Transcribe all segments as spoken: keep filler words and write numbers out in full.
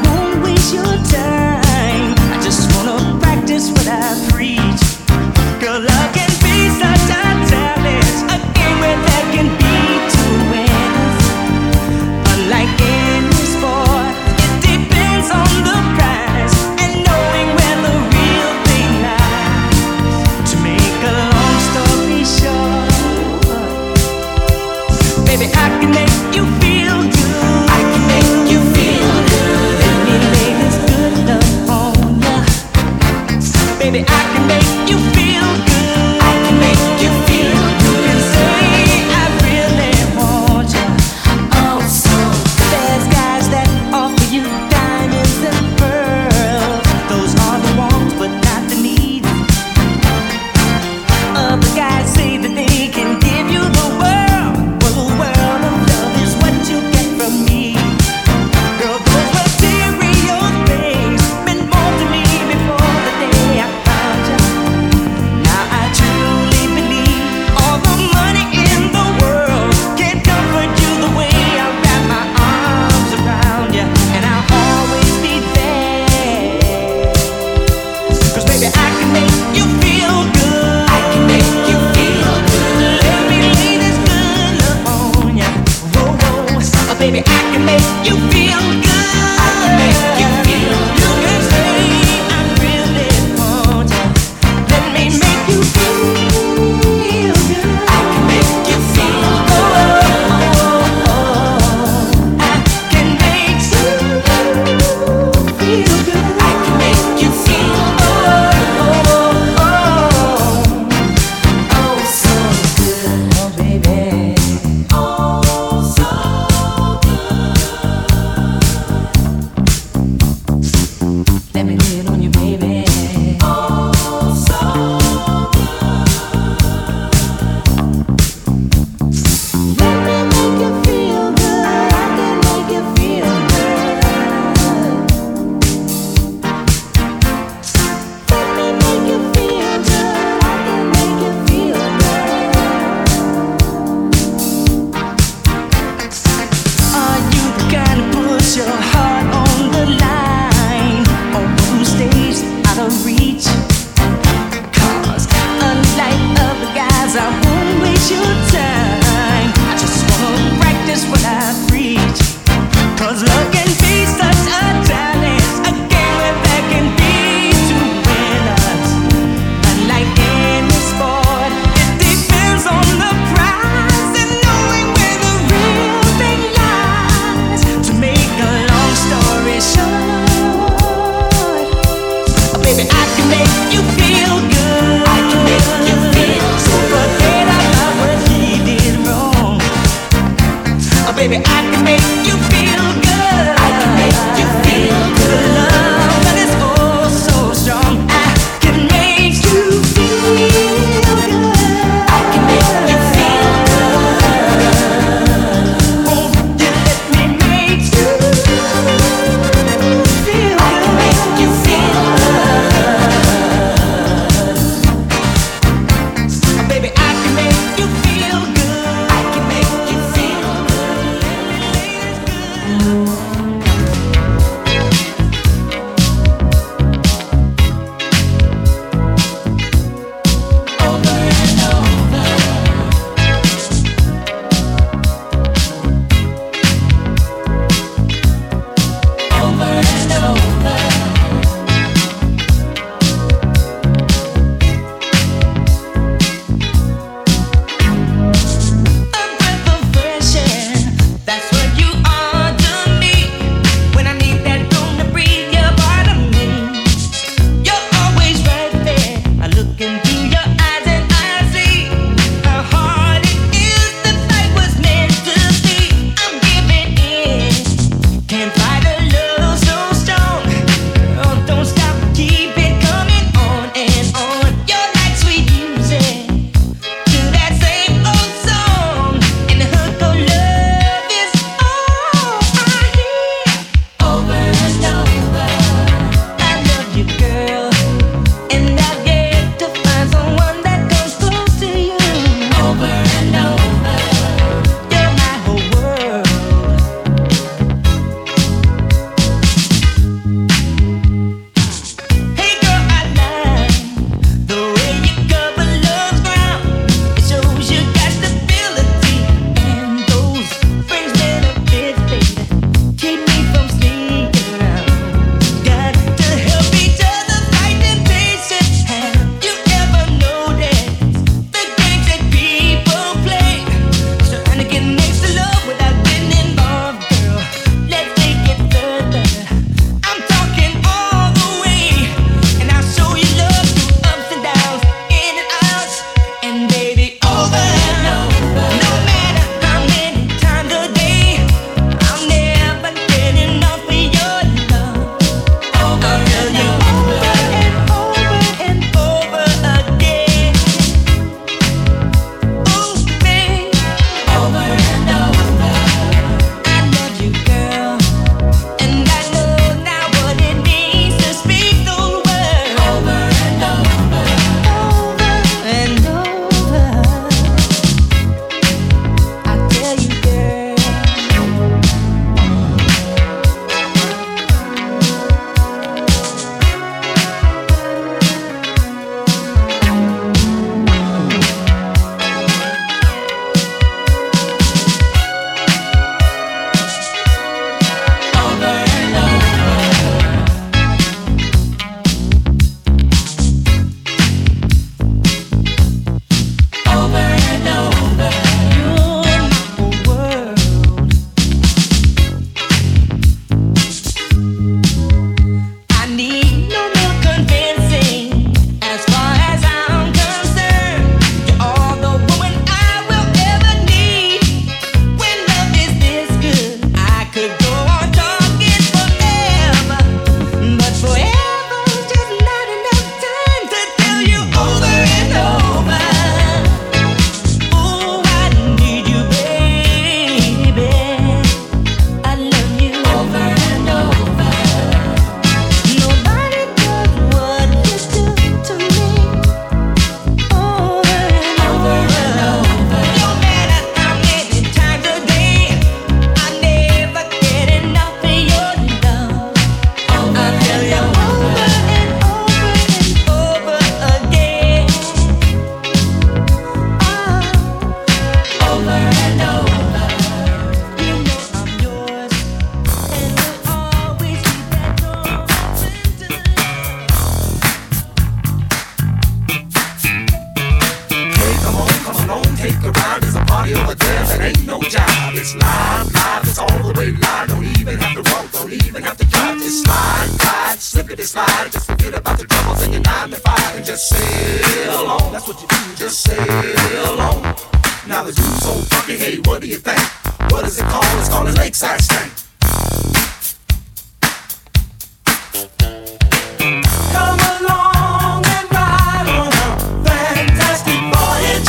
won't waste your time. I just wanna practice what I preach. Girl, love can be such a challenge, a game where there can be two winners. Unlike any sport, it depends on the prize and knowing where the real thing lies. To make a long story short, baby, I can make you feel good. I can make you feel good. Let me lay this good love on ya. Baby, I can make you feel good. I can make you feel good. And say I really want ya. Oh, so there's guys that offer you diamonds and pearls. Those are the wants, but not the needs. Other guys say that they can give you the world. Well, the world of love is what you get from me. Girl, those material things meant more to me before the day I found you. Now I truly believe all the money in the world can't comfort you the way I wrap my arms around you. And I'll always be there. 'Cause baby, I can make you feel good. I can make you feel good. Let me lay this good love on ya. Whoa, whoa. Oh, baby, I can make you feel good. I can make you feel good. You can say I really want ya. Let me make you feel good. I can make you feel good. I can make you feel good. I can make you feel oh, oh, so good, oh baby, oh so good. Let me lay it on you, baby. Oh, so good. Let me make you feel good. I can make you feel good. Let me make you feel good. I can make you feel good. Are you the kind to push your heart on the line, or who stays out of reach? 'Cause unlike other guys, I won't waste your time. I just wanna practice what I preach. 'Cause love can be such a challenge, a game where there can be two winners. Unlike any sport, it depends on the prize and knowing where the real thing lies. To make a long story short, oh, baby, I can make you feel good. I can make you feel so forget about what he did wrong. Oh, baby, I can make you feel good. I can make you feel good. Love that is oh so strong. I can make you feel good. I can make you feel good. Won't you let me make you feel good? I can make you feel good. Oh, baby, I can make you feel good. I can make you feel good. Let me lay this good. Can't fight a love so strong. Just slide, glide, slippity slide. Just forget about the troubles in your nine to five and just sail on. That's what you do, just sail on. Now the dude's so funky, hey, what do you think? What is it called? It's called a lakeside stank. Come along and ride on a fantastic voyage.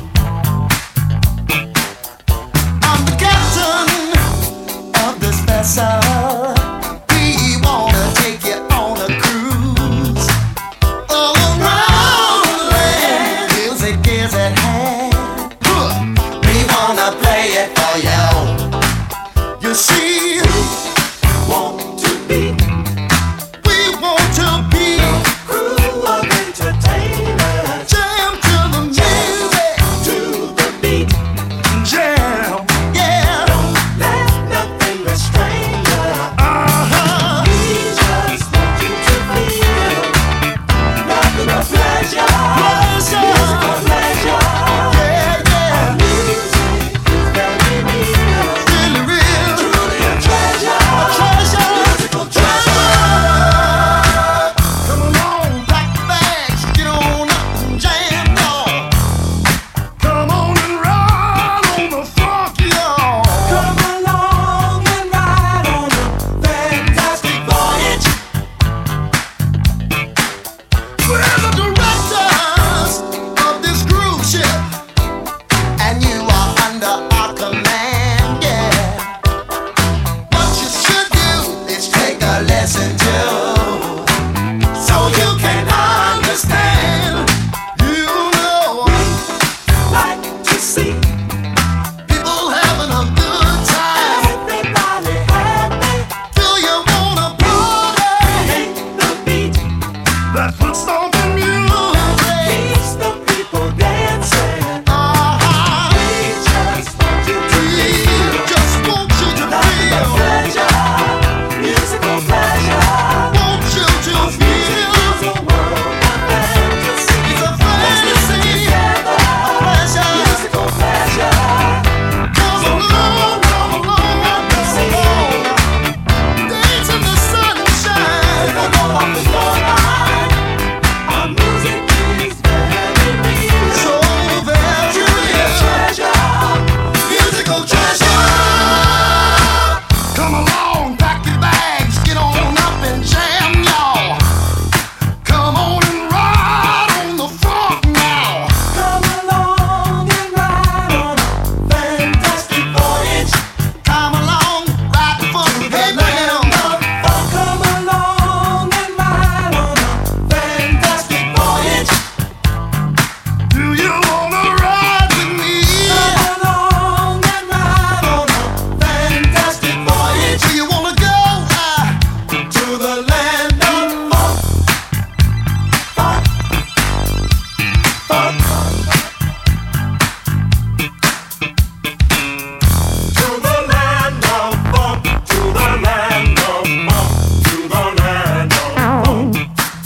I'm the captain of this vessel. We wanna take you on a cruise all around the land. Music is at hand. We wanna play it for you. You see, we want to be. We want to be a crew of entertainers. Jam to the music, to the beat. Jam, yeah. Don't let nothing restrain you. Uh-huh. We just want you to feel nothing but pleasure. Pleasure. Musical pleasure. Yeah, yeah. Our music is very real. Really real. Truly a treasure. A treasure. Musical treasure. Come along, pack your bags, get on up and jam, y'all. Come on and ride on the funk, y'all. Come along and ride on a fantastic voyage. We're the directors of this cruise ship, and you are under our command, yeah. What you should do is take a lesson too, so you can understand. You know, like to see people having a good time. Everybody happy. Do you wanna party? Hate the beat. That's what's stomping music. Keeps the people dancing. Uh-huh. We just want you to feel. Just want you to feel. Pleasure. Musical pleasure. Want you to feel. It's a world of fantasy. It's a fantasy. Together. A pleasure. Musical pleasure. Come along, come along, come along. Dance in the sunshine. If I go off the floor line, our music is very real. So very real. Treasure. Musical treasure. Come along, pack your bags, get on up and jam, y'all. Come on and ride on the funk now. Come along and ride on a fantastic voyage. Come along, ride the funk, hey man. Come along and ride on a fantastic voyage. Do you wanna ride with me? Come along and ride on a fantastic voyage. Do you wanna go uh, to the land of funk? Funk, funk, to the land of funk, to the land of funk, to the land of funk.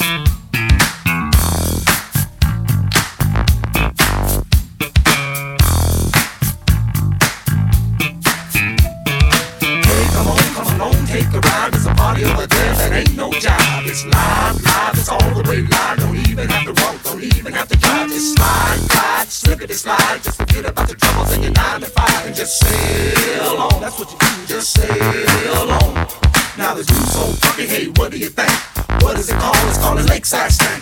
Hey, come on, come along, take a ride. There's a party over there that ain't no job. It's live, live, it's all the way live. Don't even have to walk, don't even have to drive. Just slide, glide, slippity slide. Just forget about the troubles in your nine to five and just sail on. That's what you do, just sail on. Now the dude's so funky, hey, what do you think? What is it called? It's called a lakeside stank.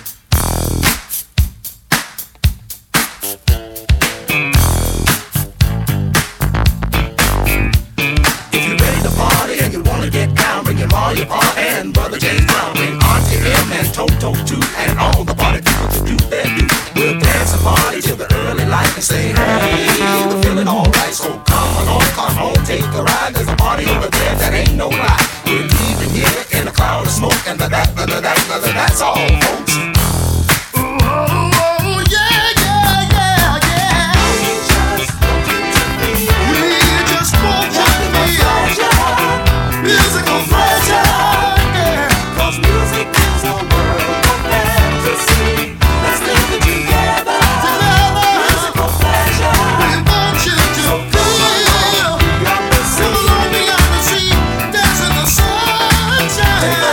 If you're ready to party and you wanna get down, bring your ma, your pa, and brother James Brown. Bring Auntie M and Toto too, and all the party people to do their do. We'll dance and party till the early light and say, hey, we're feeling alright. So come along, come on, take a ride. There's a party over there that ain't no lie. We're leaving here in a cloud of smoke, and the that, the that, the that, that's all, folks. Oh, yeah, yeah, yeah, yeah. We just want you to feel. We just want you to feel. Musical pleasure, yeah. 'Cause music is a world of fantasy. Let's live it together. Together. Musical pleasure. We want you to feel. Come along beyond the sea, dance in the sunshine.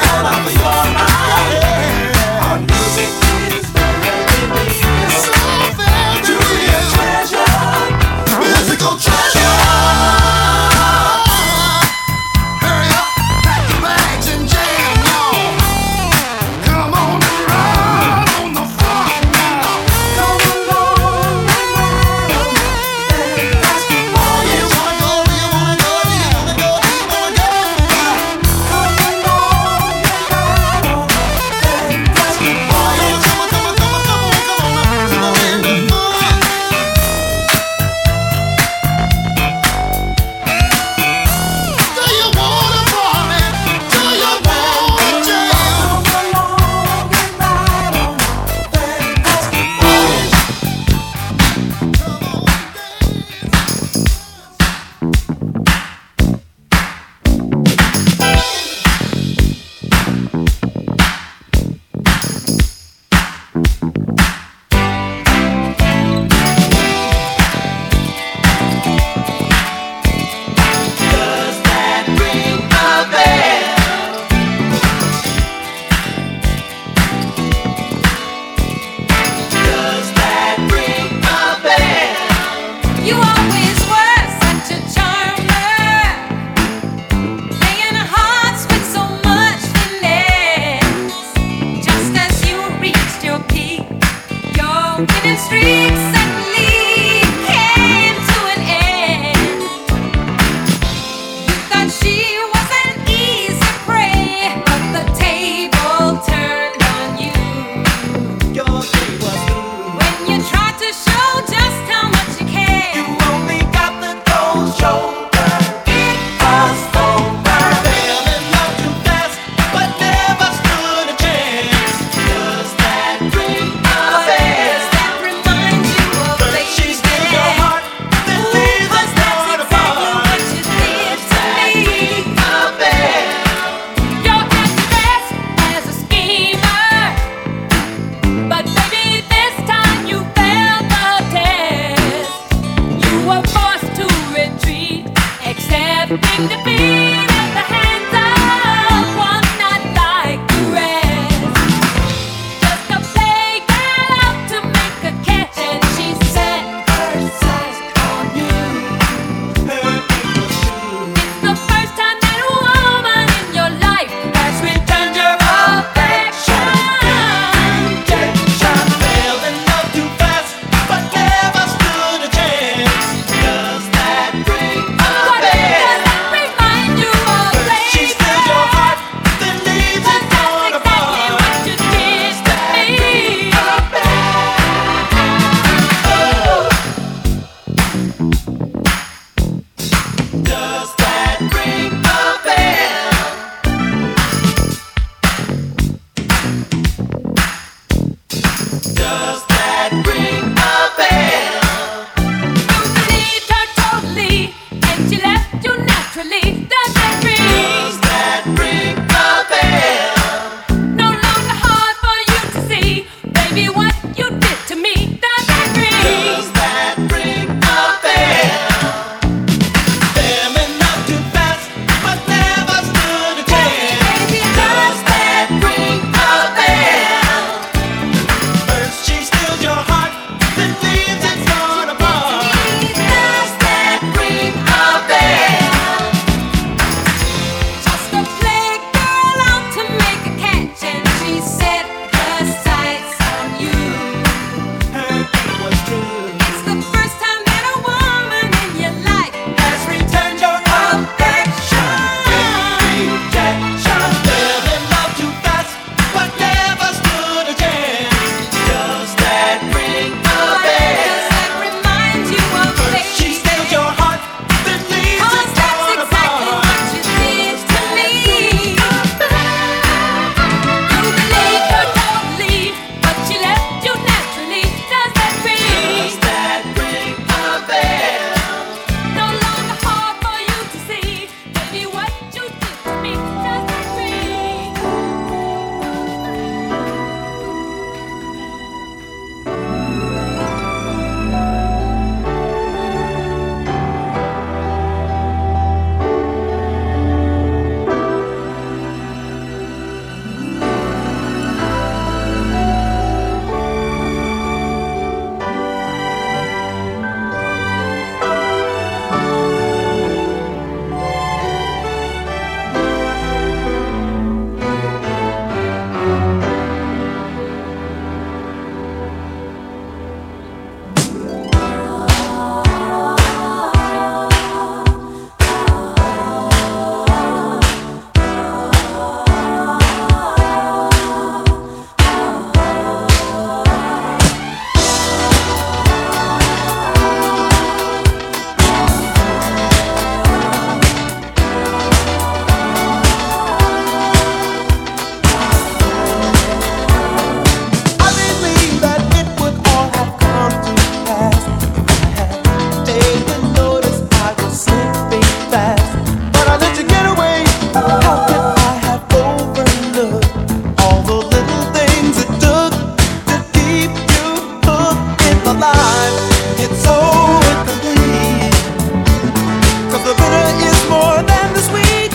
took, all the little things it took to keep you hooked in my life. It's so incomplete, 'cause the bitter is more than the sweet.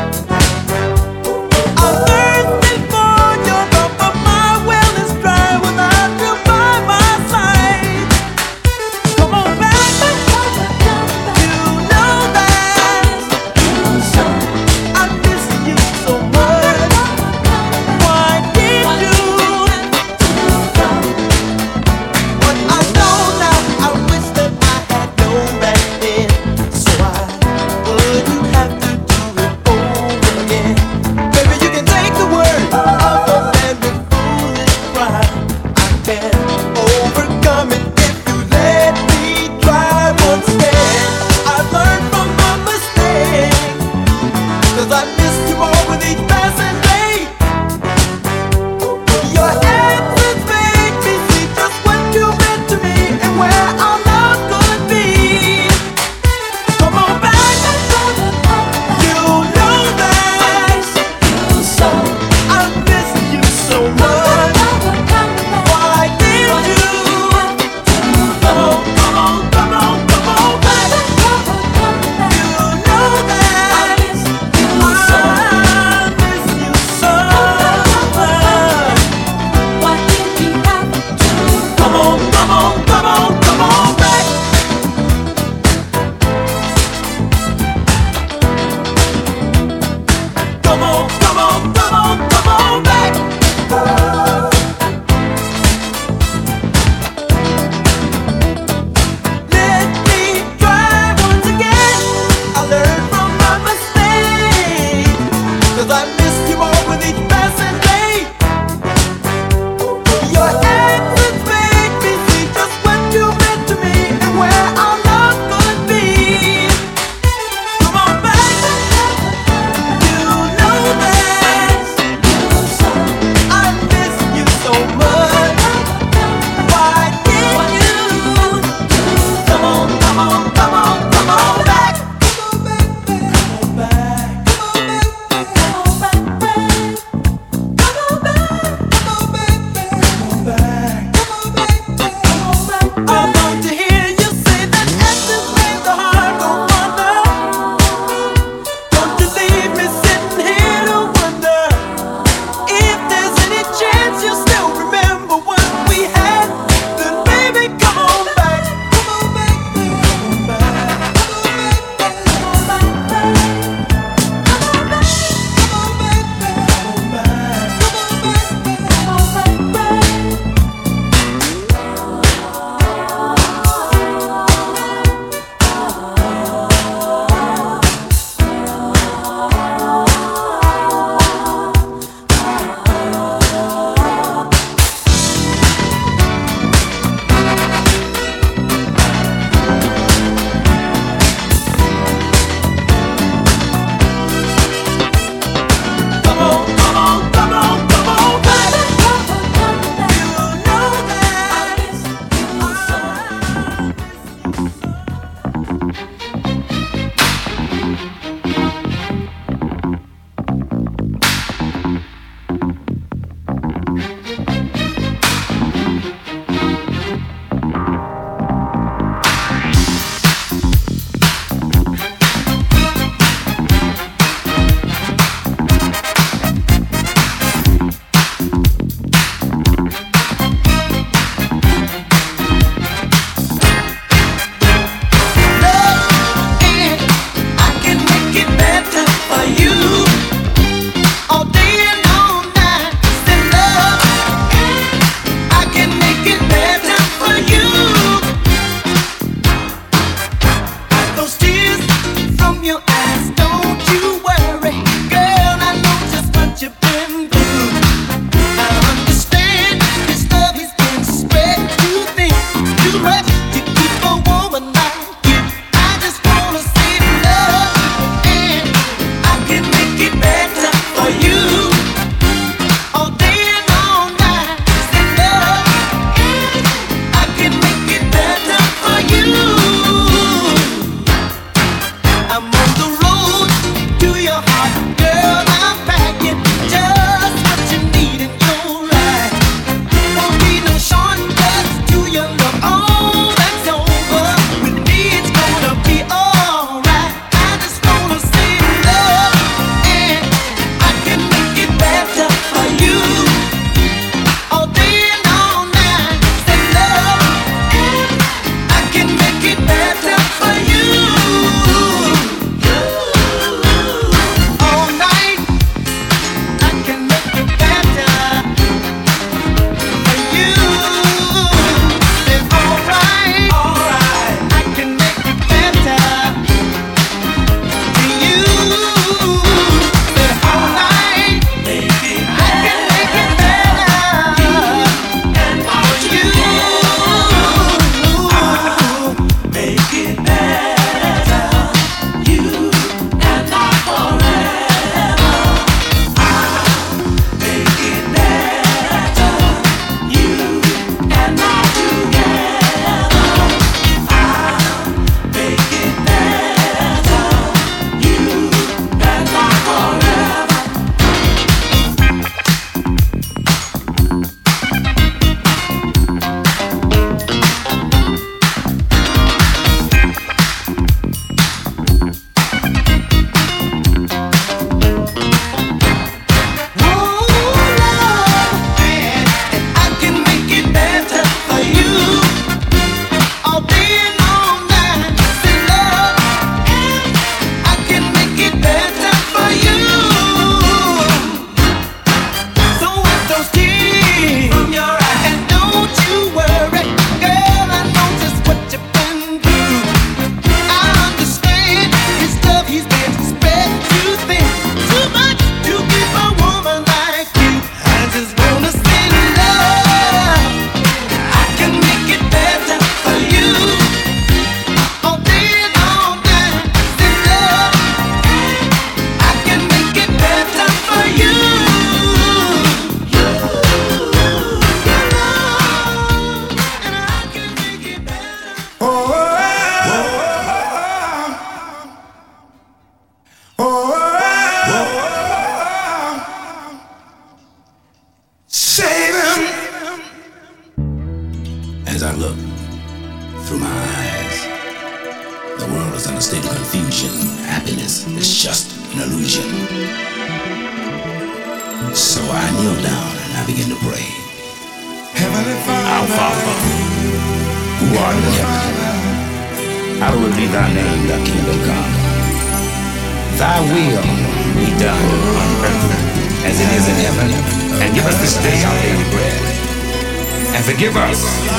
I'm thirsty for your love, but my well is dry without you by my side. Come on back, you know that I miss you so much. I look through my eyes, the world is in a state of confusion. Happiness is just an illusion. So I kneel down and I begin to pray. Heavenly Father, Our Father, who art in heaven, hallowed be thy name, thy kingdom come. Thy will be done on earth as it is in heaven. And give us this day our daily bread. And forgive us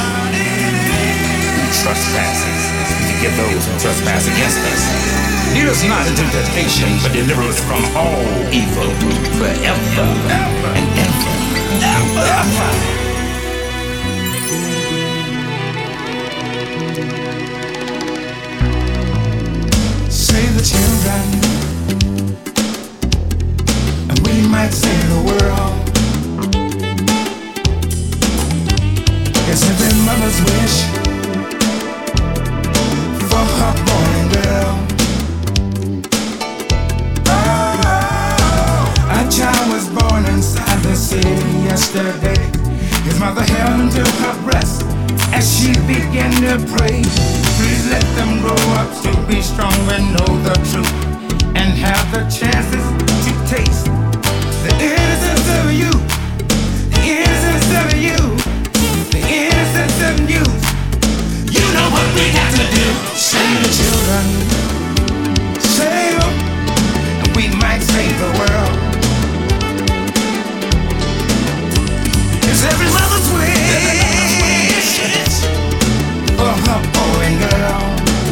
who trespasses, and forgive those who trespass against us. Lead us not into temptation, but deliver us from all evil, forever and ever. Ever. Ever. Save the children, and we might save the world. It's every mother's wish for her boy and girl. Oh, a child was born inside the city yesterday. His mother held him to her breast as she began to pray. Please let them grow up to be strong and know the truth, and have the chances to taste the innocence of you, the innocence of you, the innocence of you. You know what we have to do. Save the children, save them, and we might save the world. It's every mother's wish for her boy and girl.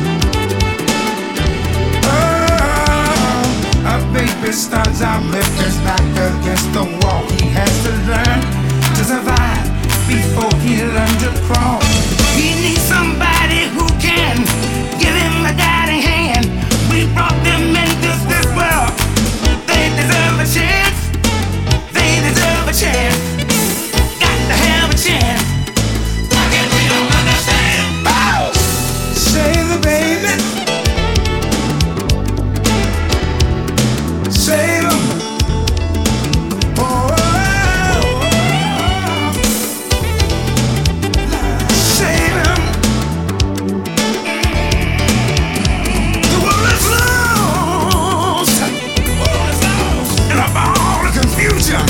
Oh, a baby starts out with his back against the wall. He has to learn to survive before he learns to crawl. He needs somebody who can give him a guiding hand. We brought them into this world. They deserve a chance. They deserve a chance. Got to have a chance. Why can't we don't understand? Oh! Save the baby. Save him. Oh, save him. The world is lost. The world is lost in a ball of confusion.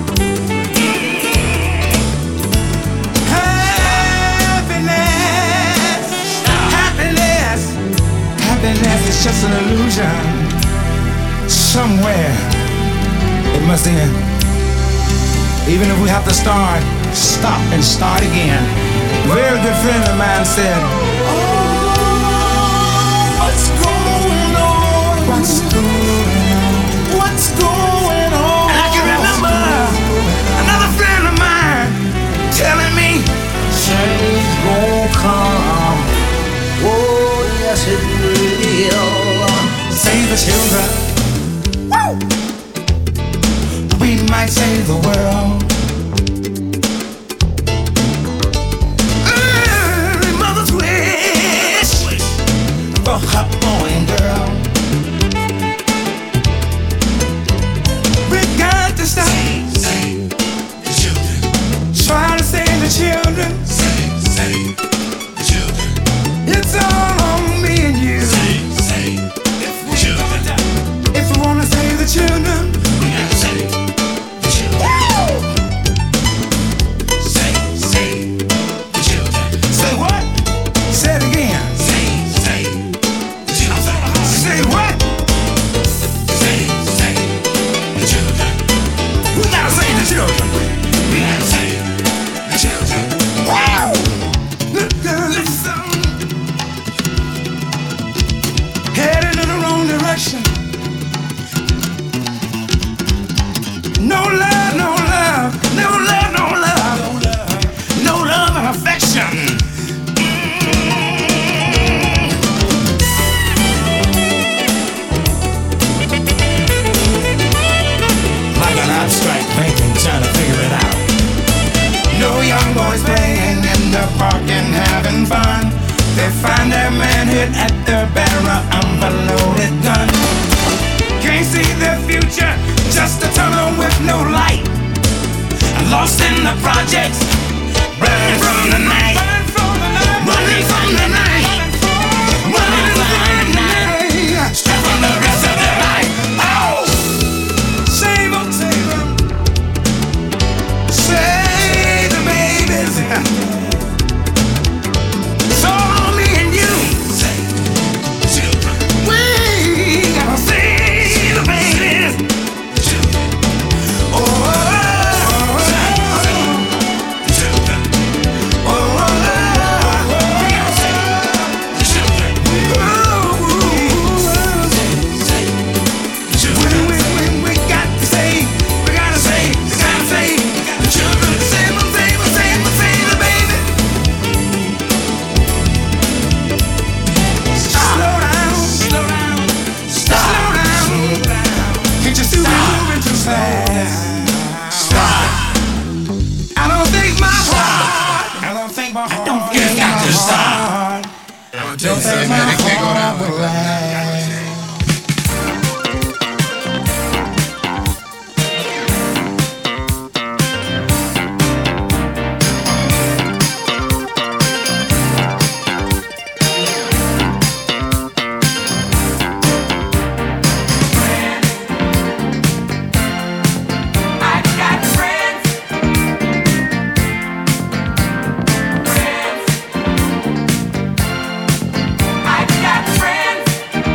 Happiness, happiness, happiness is just an illusion. Somewhere it must end. Even if we have to start, stop and start again. A very good friend of mine said, oh, what's going on? What's going on? What's going on? And I can remember another friend of mine telling me, change gon' come. Oh, yes it will. Save the children. Woo! We might save the world. Every mother's wish for her boy and girl. We got to stop. Save, save the children. Try to save the children. Save, save the children. It's all on me and you. Save, save the children. If we wanna save the children, we gotta save the children. Woo! Save, save the children. Say what? Say it again. Save, save the children. Say what? Save, save the children. We gotta save the children. We gotta save the children. Wow! Listen. Heading in the wrong direction. No love, no love, no love, no love, no love and affection. Mm. Like an abstract painting, trying to figure it out. No young boys playing in the park and having fun. They find their manhood at the barrel of a loaded gun. Can't see their future, just a tunnel with no light. Lost in the projects, burning from the night. Friends.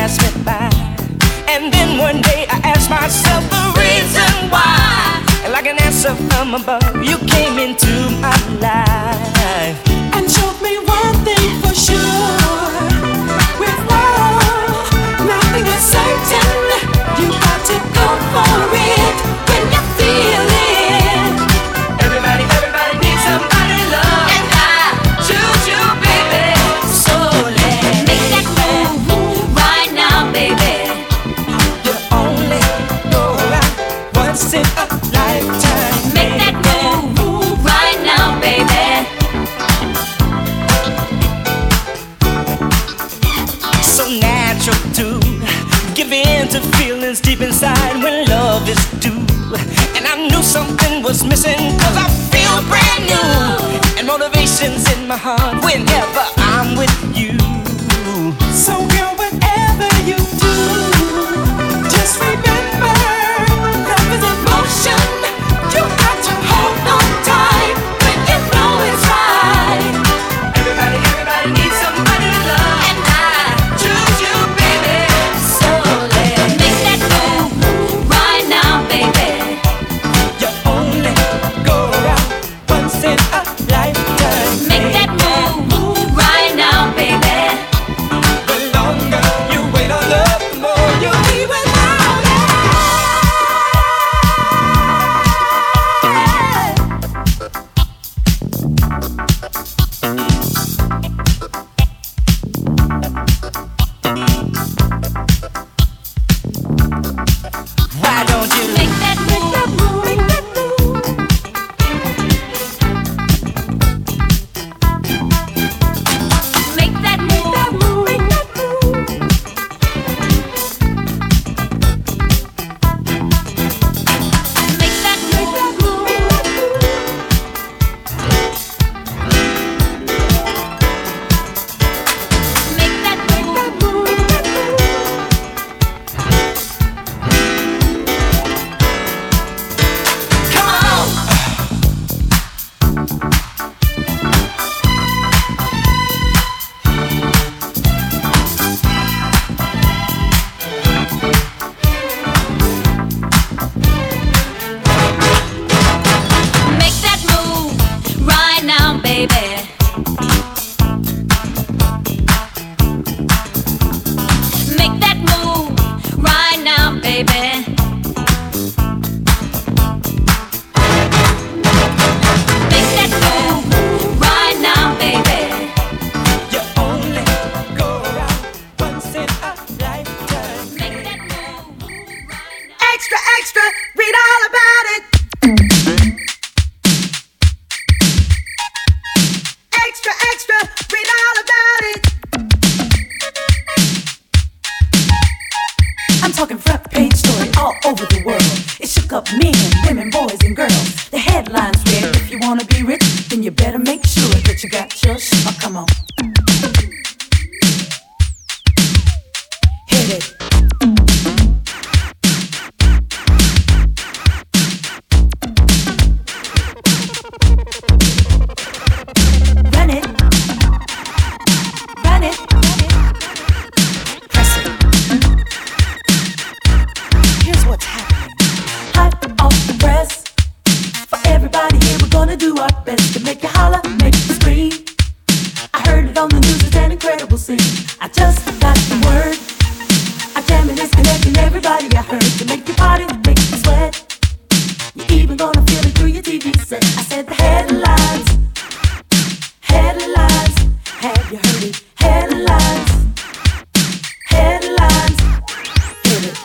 passed me by. And then one day I asked myself the reason why. And like an answer from above, you came into my life and showed me one thing for sure. With love, nothing is certain. You got to go for it when you feel it. Everybody, everybody needs somebody to love, and I choose you, baby. So let's make that move right now, baby. You only go around once in a lifetime. Make that move right now, baby. So natural to give in to feelings deep inside when love is due. And I knew something was missing, cause I feel brand new. And motivation's in my heart whenever I'm with you. So girl, whatever you do, just remember, love is in motion. You got to hold on tight when you know it's right. Everybody, everybody needs somebody to love, and I choose you, baby. So let's make that move right now, baby. You only go around once in a lifetime. Make that move right now, baby. The longer you wait on love, the more you'll be without it. Why don't you Make that move, make that move. Make that move, make that move. Make that move. Make that come on. Make that move right now, baby. Make that move right now, baby. Make that move right now, baby. You only go around once in a lifetime. Make that move right now. Extra, extra, read all about it. Extra, extra, read all about it. I'm talking front page story all over the world. It shook up men, women, boys, and girls. The headlines read, if you wanna be rich, then you better make sure that you got your sh- oh, come on. Hit it. Run it. Run it. Press it. Here's what's happening. Hot off the press. For everybody here, we're gonna do our best to make you holler, make you scream. I heard it on the news, it's an incredible scene. I just got the word. I'm jamming is connecting everybody I heard to make you party, make you sweat. You're even gonna feel it through your T V set. I said the headlines. Headlines. Have you heard it? Headlines. Headlines. Hit it.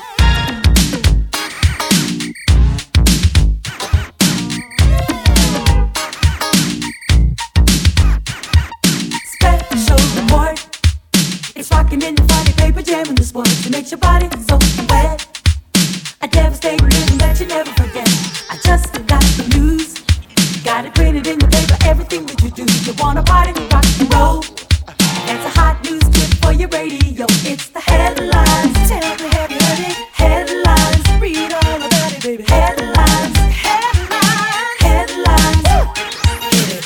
Special report. It's rocking in the Friday paper, jamming the sports. It makes your body so wet. A devastating rhythm that you never forget. I just got the news. Got it printed in the paper, everything that you do. You wanna party, rock and roll. That's a hot news tip for your radio. It's the headlines. Tell me, have you heard it? Headlines. Read all about it, baby. Headlines. Headlines. Headlines. Hit it.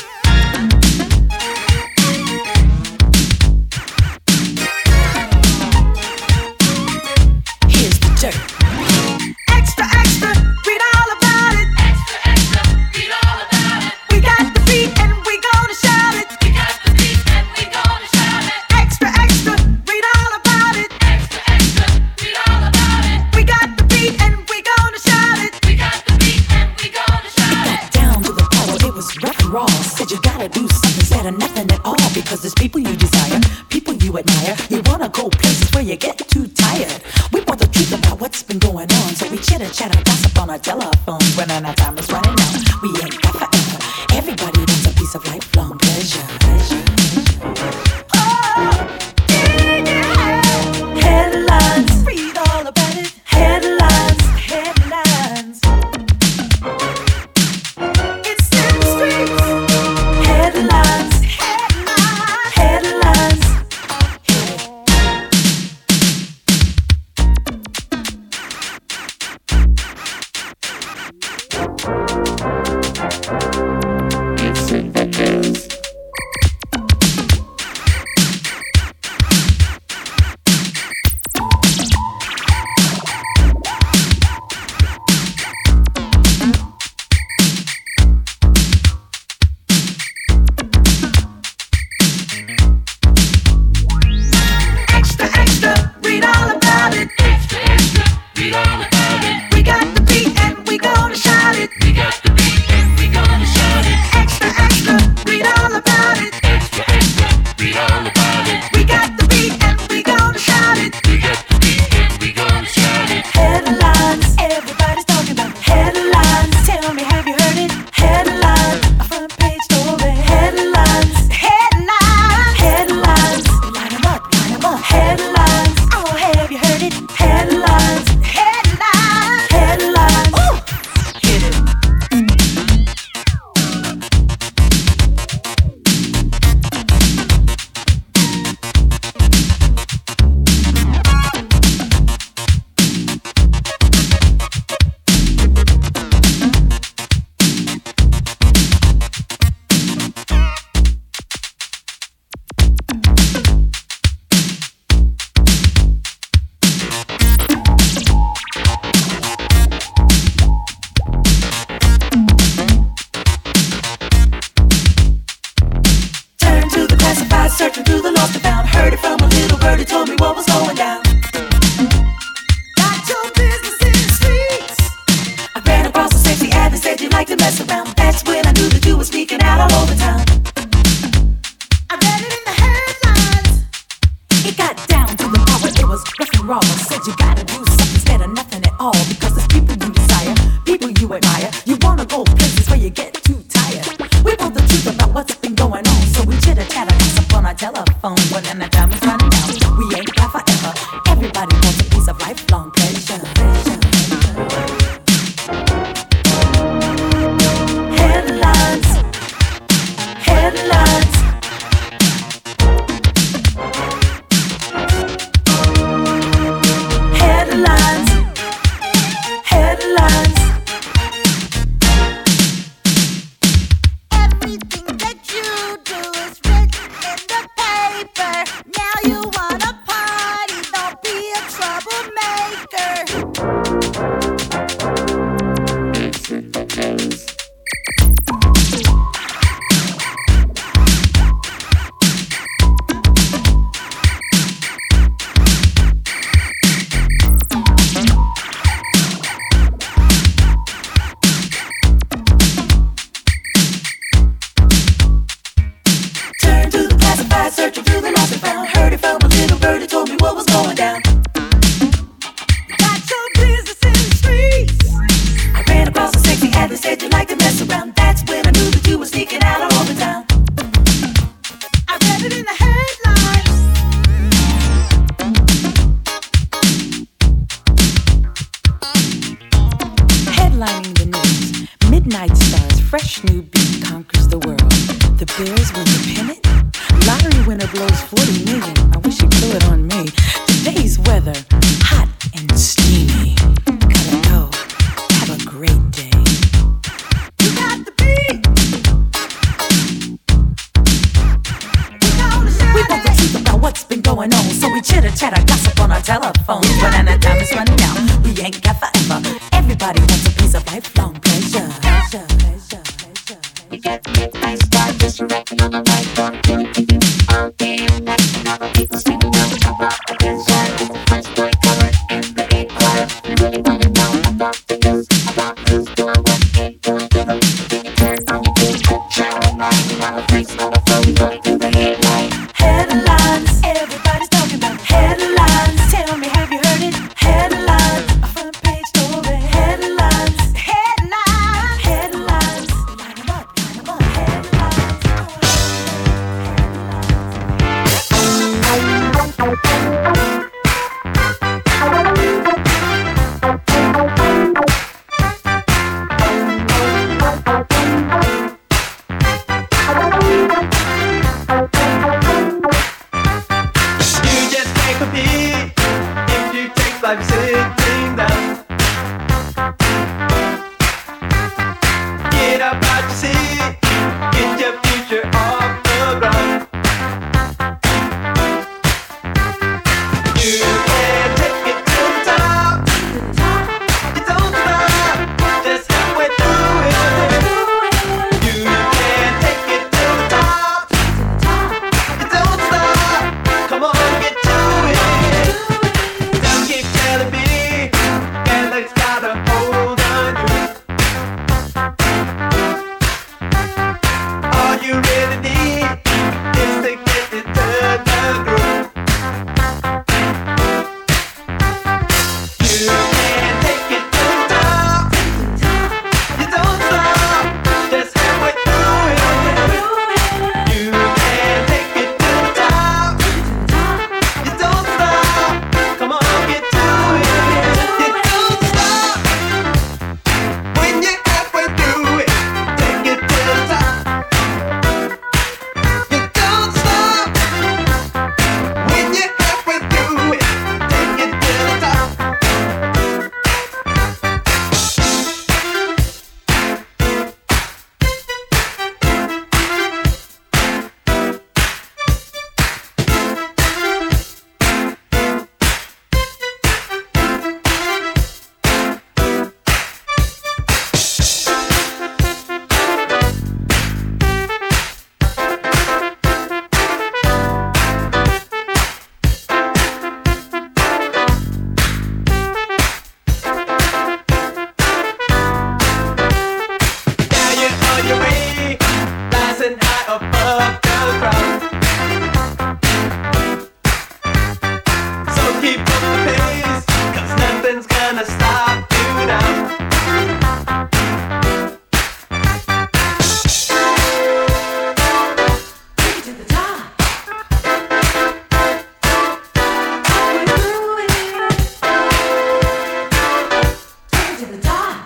desire, people you admire. You wanna go places where you get too tired. We want the truth about what's been going on, so we chitter chatter, gossip on our telephones. When our time is running out, we ain't got forever. Everybody wants a piece of lifelong pleasure. pleasure. Oh, yeah. Headlines, read all about it. Headlines, headlines. It's in the streets. Headlines, headlines, headlines. It's in the news. Extra, extra, read all about it. Extra, extra, read all about it. We got the beat and we gonna shout it. We got the beat and we gonna shout it. Extra, extra, read all about it. Extra, extra, read all about it. We got the beat and we gonna shout it. We got the beat and we gonna shout it. Headlines, everybody's talking about headlines. Tell me, have you heard it? Headlines, a front page story. Headlines, Headlines, headlines. Line 'em up, line 'em up. Headlines, oh, have you heard it? Headlines, headlines. headlines. Ooh, hit it. Turn to the classified, searching through the lost and found. Heard it from a little bird who told me what was going down. Got your business in the streets. I ran across a sexy ad that said you like to mess around. That's when I knew that you were sneaking out all over town. I read it in the headlines. It got down to the part where it was rough and raw. I said you gotta do something instead of nothing at all. Because there's people you desire, people you admire. You wanna go places where you get too tired. We want the truth about what's been going on, so we chitter chatter, gossip on our telephone. When the time is running out, we ain't got forever. Everybody wants a piece of lifelong pleasure. pleasure, pleasure. Headlines, headlines. Headlines, headlines. Everything that you do is written in the paper. Now you wanna party, don't be a troublemaker. It's in the news. Turn to the classified, searching through the lost and found. Heard it from a little bird who told me what was going down. Got your business in the streets. I ran across a sexy ad that said you like to mess around. That's when I knew that you were sneaking out all over town. I read it in the headlines. Headlining the news, Midnight Stars, fresh new beat conquers the world. The Bears win the pennant. Lottery winner blows forty million. I wish he blew it on me. Today's weather, hot and steamy. Gotta go. Have a great day. You got the beat. We gonna shout We want the it. truth about what's been going on, so we chitter chatter, gossip on our telephones. When our time is running out, we ain't got forever. Everybody wants a piece of lifelong pleasure. pleasure, pleasure, pleasure. We got the midnight star just rapping on the mic, don't do anything all day and night. And all the people singing out about the desire. It's the first boy color in the eight choir. We really wanna know about the news, about who's doing what ain't doing to them. Then you turn on your big good shower line, and all the freaks on the phone going to the headline. Headline. I'm sitting down. Get up out your seat, get your future off the ground. You can take it to the top. You don't stop, just halfway through it. You can take it to the top. You don't stop, come on, get to it. Don't keep telling me that luck's got a hold on you. All you really need is to get into the groove. You can take it to the top. You don't stop, just halfway through it. You can take it to the top. You don't stop, come on, get to it. You don't stop when you're halfway through it. Take it to the top. You don't stop when you're halfway through it. Take it to the top. Now you're on your way, rising high above the crowd. So keep up the pace, 'cause nothing's gonna stop you now. Take it to the top. Halfway through it. Take it to the top.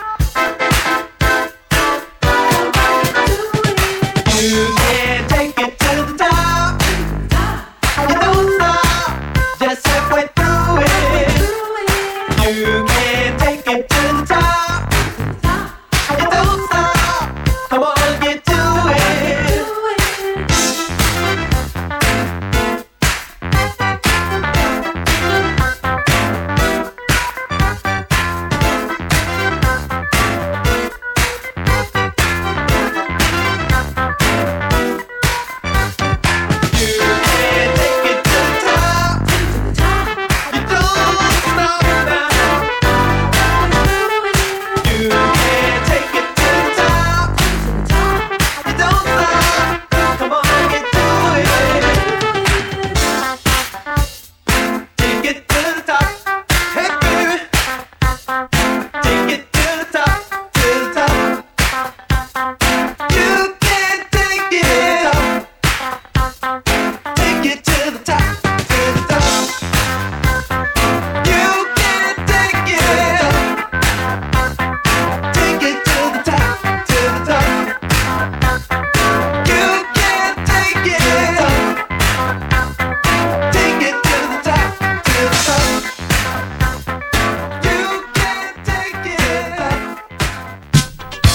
You can take it to the top. You don't stop, just halfway through it. You can take it to the top. You don't stop, come on, get to it. You can take it to the top. You don't stop now. You can take it to the top. You don't stop, come on, get to it. Take it to the top, hey baby. Take it to the top, to the top. You can take it up. Take it to the top, to the top. You can take it up. Take it to the top, to the top. You can take it up. Take it to the top, to the top. You can take it up.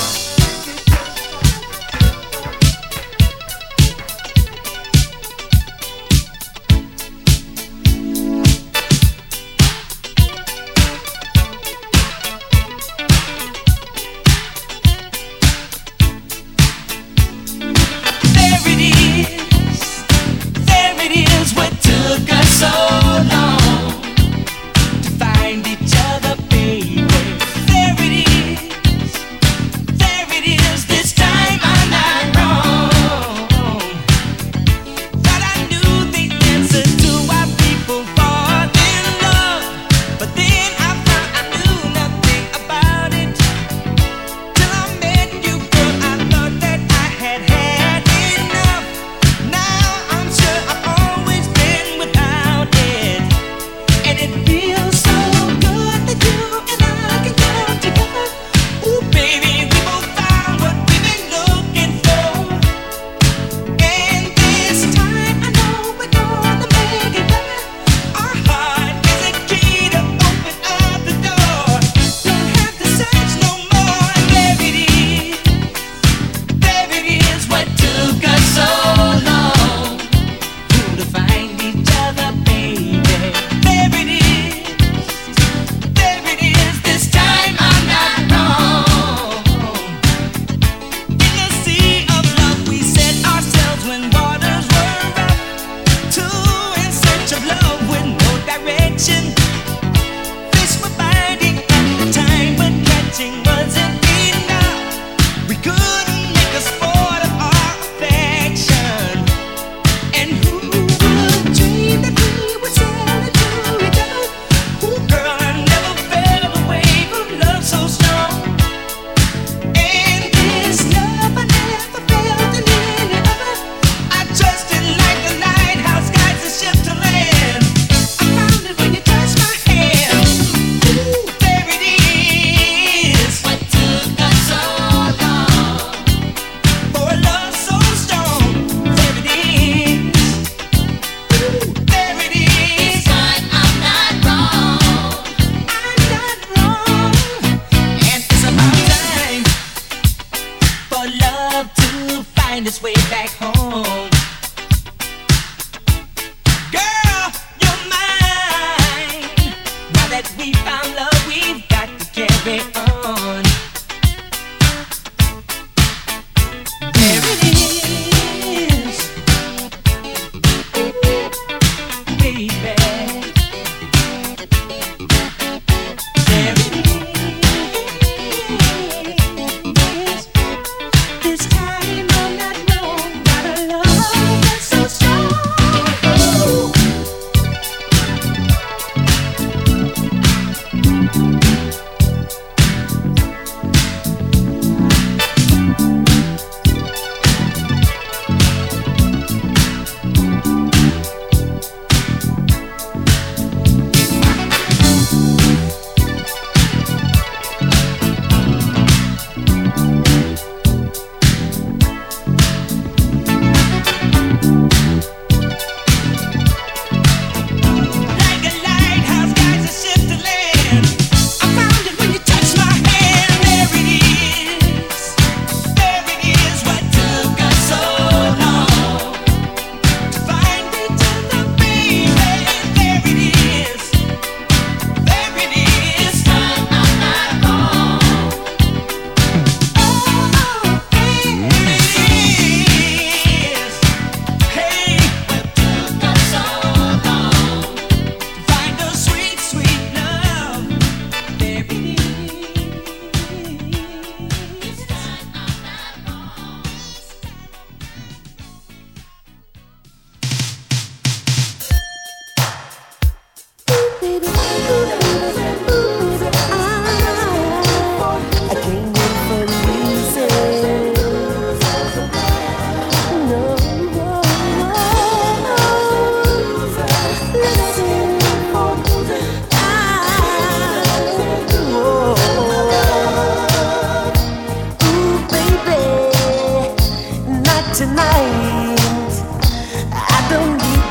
There it is, there it is. What took us so long to find each other, baby? There it is, there it is. This time I'm not wrong. Thought I knew the answer to why people fall in love, but then I found I knew nothing about it. Till I met you, girl, I thought that I had had enough. Now I'm sure I've always been without it.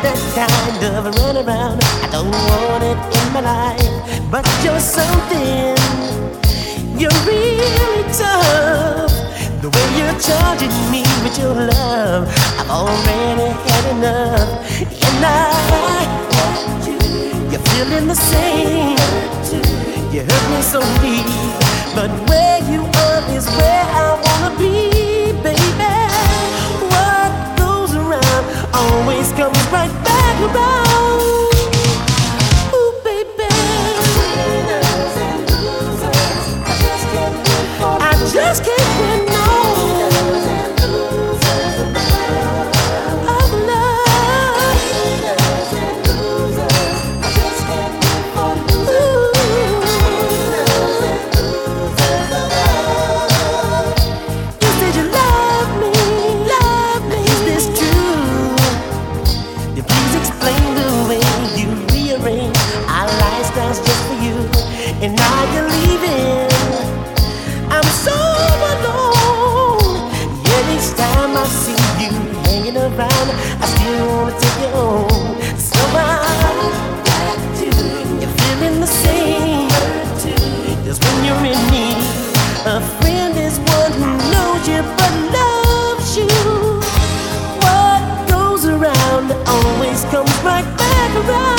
that kind of runaround. I don't want it in my life, but you're something. You're really tough. The way you're charging me with your love, I've already had enough. And I, you're feeling the same. You hurt me so deep, but where you are is where I wanna be, baby. What goes around always comes right back around. Ooh, baby, I just can't win no of love. You said you love me, love me. Is this true? You please explain the way you rearrange our lifestyles just for you, and now you're leaving. I'm so alone. Yet each time I see you hanging around, I still wanna take you home. So I'm back to you're feeling the same. Cause when you're in need, a friend is one who knows you but loves you. What goes around always comes right back around.